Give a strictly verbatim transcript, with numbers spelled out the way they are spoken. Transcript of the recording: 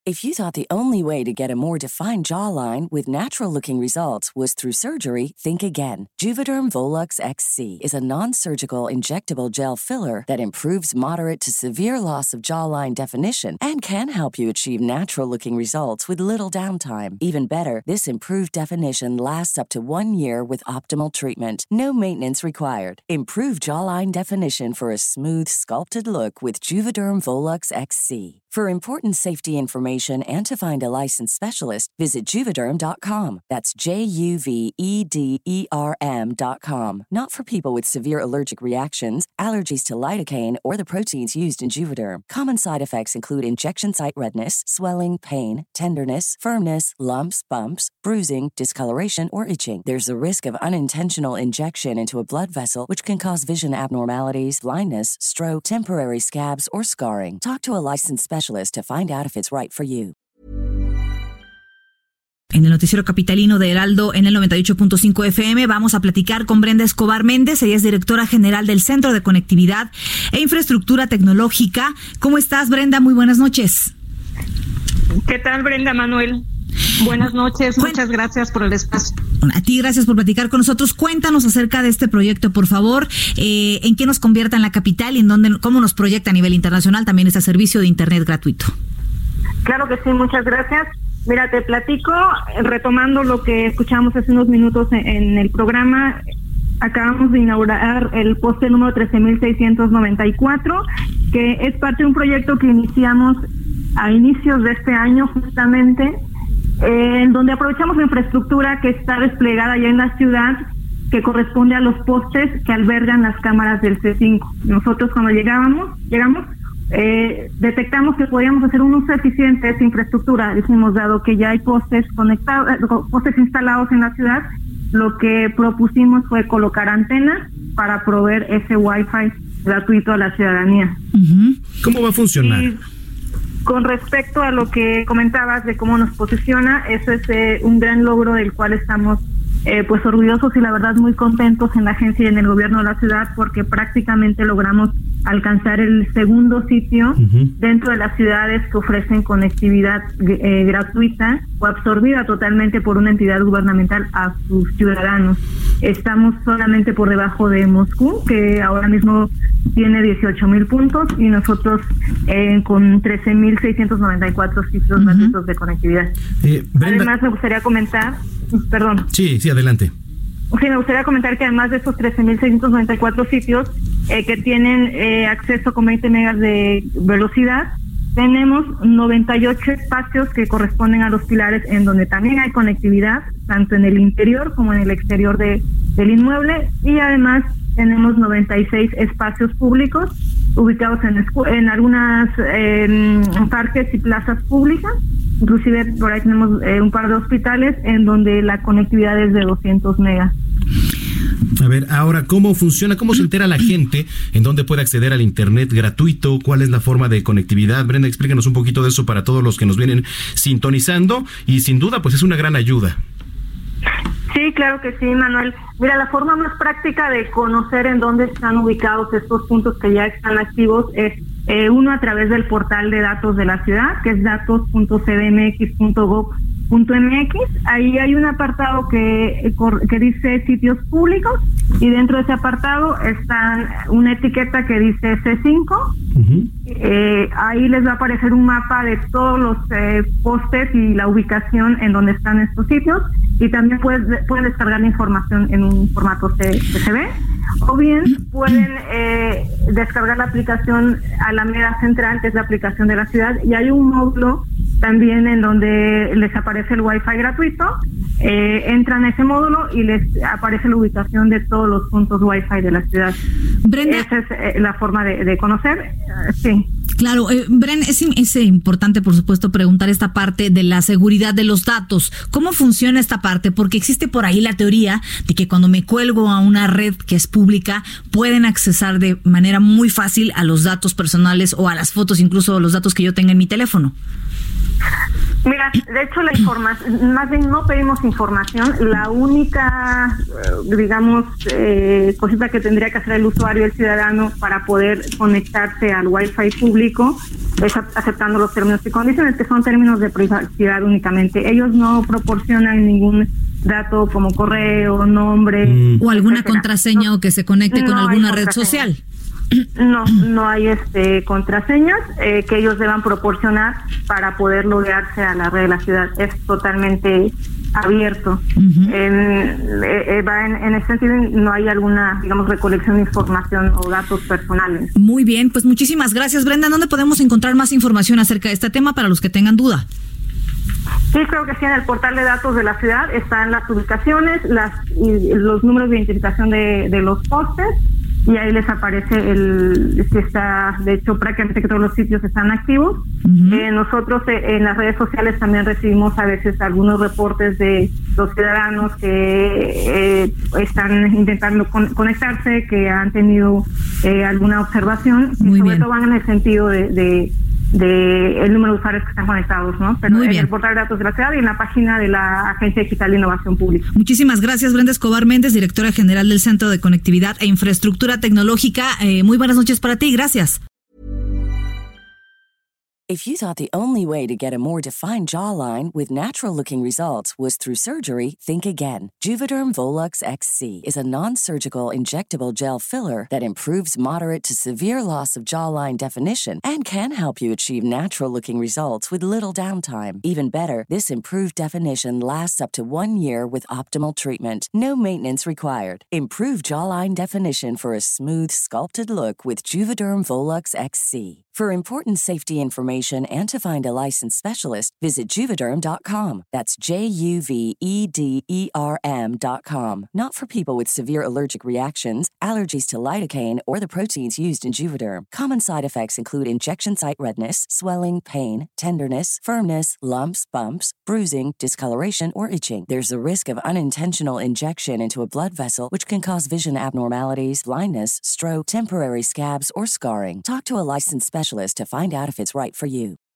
If you thought the only way to get a more defined jawline with natural-looking results was through surgery, think again. Juvederm Volux X C is a non-surgical injectable gel filler that improves moderate to severe loss of jawline definition and can help you achieve natural-looking results with little downtime. Even better, this improved definition lasts up to one year with optimal treatment. No maintenance required. Improve jawline definition for a smooth, sculpted look with Juvederm Volux X C. For important safety information and to find a licensed specialist, visit Juvederm dot com. That's J U V E D E R M dot com. Not for people with severe allergic reactions, allergies to lidocaine, or the proteins used in Juvederm. Common side effects include injection site redness, swelling, pain, tenderness, firmness, lumps, bumps, bruising, discoloration, or itching. There's a risk of unintentional injection into a blood vessel, which can cause vision abnormalities, blindness, stroke, temporary scabs, or scarring. Talk to a licensed specialist to find out if it's right for you. En el noticiero capitalino de Heraldo en el noventa y ocho punto cinco F M vamos a platicar con Brenda Escobar Méndez. Ella es directora general del Centro de Conectividad e Infraestructura Tecnológica. ¿Cómo estás, Brenda? Muy buenas noches. ¿Qué tal, Brenda, Manuel? Buenas noches, muchas gracias por el espacio. A ti, gracias por platicar con nosotros. Cuéntanos acerca de este proyecto, por favor. Eh, ¿En qué nos convierte en la capital y en dónde, cómo nos proyecta a nivel internacional también este servicio de Internet gratuito? Claro que sí, muchas gracias. Mira, te platico, retomando lo que escuchamos hace unos minutos en, en el programa. Acabamos de inaugurar el poste número trece mil seiscientos noventa y cuatro, que es parte de un proyecto que iniciamos a inicios de este año justamente, eh, en donde aprovechamos la infraestructura que está desplegada ya en la ciudad, que corresponde a los postes que albergan las cámaras del C cinco. Nosotros cuando llegábamos, llegamos, eh, detectamos que podíamos hacer un uso eficiente de esa infraestructura. Dijimos, dado que ya hay postes conectados, postes instalados en la ciudad, lo que propusimos fue colocar antenas para proveer ese Wi-Fi gratuito a la ciudadanía. Uh-huh. ¿Cómo va a funcionar? Y con respecto a lo que comentabas de cómo nos posiciona, eso es eh, un gran logro del cual estamos eh, pues orgullosos y la verdad muy contentos en la agencia y en el gobierno de la ciudad, porque prácticamente logramos alcanzar el segundo sitio uh-huh. dentro de las ciudades que ofrecen conectividad eh, gratuita o absorbida totalmente por una entidad gubernamental a sus ciudadanos. Estamos solamente por debajo de Moscú, que ahora mismo tiene dieciocho mil puntos, y nosotros eh, con trece mil seiscientos noventa y cuatro sitios uh-huh. gratuitos de conectividad. Eh, Además, me gustaría comentar, perdón. Sí, sí, adelante. Sí, me gustaría comentar que además de estos trece mil seiscientos noventa y cuatro sitios eh, que tienen eh, acceso con veinte megas de velocidad, tenemos noventa y ocho espacios que corresponden a los pilares en donde también hay conectividad, tanto en el interior como en el exterior de, del inmueble, y además tenemos noventa y seis espacios públicos ubicados en, en algunas eh, parques y plazas públicas. Inclusive por ahí tenemos eh, un par de hospitales en donde la conectividad es de doscientos megas. A ver, ahora, ¿cómo funciona? ¿Cómo se entera la gente en dónde puede acceder al Internet gratuito? ¿Cuál es la forma de conectividad? Brenda, explícanos un poquito de eso para todos los que nos vienen sintonizando, y sin duda, pues es una gran ayuda. Sí, claro que sí, Manuel. Mira, la forma más práctica de conocer en dónde están ubicados estos puntos que ya están activos es eh, uno a través del portal de datos de la ciudad, que es datos punto c d m x punto gob punto m x. Ahí hay un apartado que, que dice sitios públicos, y dentro de ese apartado está una etiqueta que dice C cinco. Uh-huh. Eh, ahí les va a aparecer un mapa de todos los eh, postes y la ubicación en donde están estos sitios, y también pueden, pueden descargar la información en un formato C S V, o bien pueden eh, descargar la aplicación Alameda Central, que es la aplicación de la ciudad, y hay un módulo también en donde les aparece el Wi-Fi gratuito. Eh, entran a ese módulo y les aparece la ubicación de todos los puntos Wi-Fi de la ciudad. Brenda, esa es eh, la forma de, de conocer. Uh, sí. Claro, eh, Brenda, es, es importante, por supuesto, preguntar esta parte de la seguridad de los datos. ¿Cómo funciona esta parte? Porque existe por ahí la teoría de que cuando me cuelgo a una red que es pública, pueden accesar de manera muy fácil a los datos personales o a las fotos, incluso los datos que yo tenga en mi teléfono. Mira, de hecho la información, más bien no pedimos información, la única, digamos, eh, cosita que tendría que hacer el usuario, el ciudadano, para poder conectarse al Wi-Fi público, es aceptando los términos y condiciones, que son términos de privacidad únicamente. Ellos no proporcionan ningún dato como correo, nombre. Mm. O alguna etcétera. contraseña no, o que se conecte con no alguna red social. No, no hay este contraseñas eh, que ellos deban proporcionar para poder loguearse a la red de la ciudad. Es totalmente abierto. Uh-huh. En, eh, va en, en ese sentido, no hay alguna, digamos, recolección de información o datos personales. Muy bien, pues muchísimas gracias, Brenda. ¿Dónde podemos encontrar más información acerca de este tema para los que tengan duda? Sí, creo que sí, en el portal de datos de la ciudad están las ubicaciones, las y los números de identificación de, de los postes, y ahí les aparece el si está, de hecho, prácticamente que todos los sitios están activos. Uh-huh. Eh, nosotros eh, en las redes sociales también recibimos a veces algunos reportes de los ciudadanos que eh, están intentando con, conectarse, que han tenido eh, alguna observación, Muy y sobre bien. todo van en el sentido de, de de el número de usuarios que están conectados, ¿no? Pero Muy en bien. el portal de datos de la ciudad y en la página de la Agencia Digital de Innovación Pública. Muchísimas gracias, Brenda Escobar Méndez, directora general del Centro de Conectividad e Infraestructura Tecnológica. Eh, muy buenas noches para ti, gracias. If you thought the only way to get a more defined jawline with natural-looking results was through surgery, think again. Juvederm Volux X C is a non-surgical injectable gel filler that improves moderate to severe loss of jawline definition and can help you achieve natural-looking results with little downtime. Even better, this improved definition lasts up to one year with optimal treatment. No maintenance required. Improve jawline definition for a smooth, sculpted look with Juvederm Volux X C. For important safety information and to find a licensed specialist, visit Juvederm dot com. That's J U V E D E R M dot com. Not for people with severe allergic reactions, allergies to lidocaine, or the proteins used in Juvederm. Common side effects include injection site redness, swelling, pain, tenderness, firmness, lumps, bumps, bruising, discoloration, or itching. There's a risk of unintentional injection into a blood vessel, which can cause vision abnormalities, blindness, stroke, temporary scabs, or scarring. Talk to a licensed specialist to find out if it's right for you.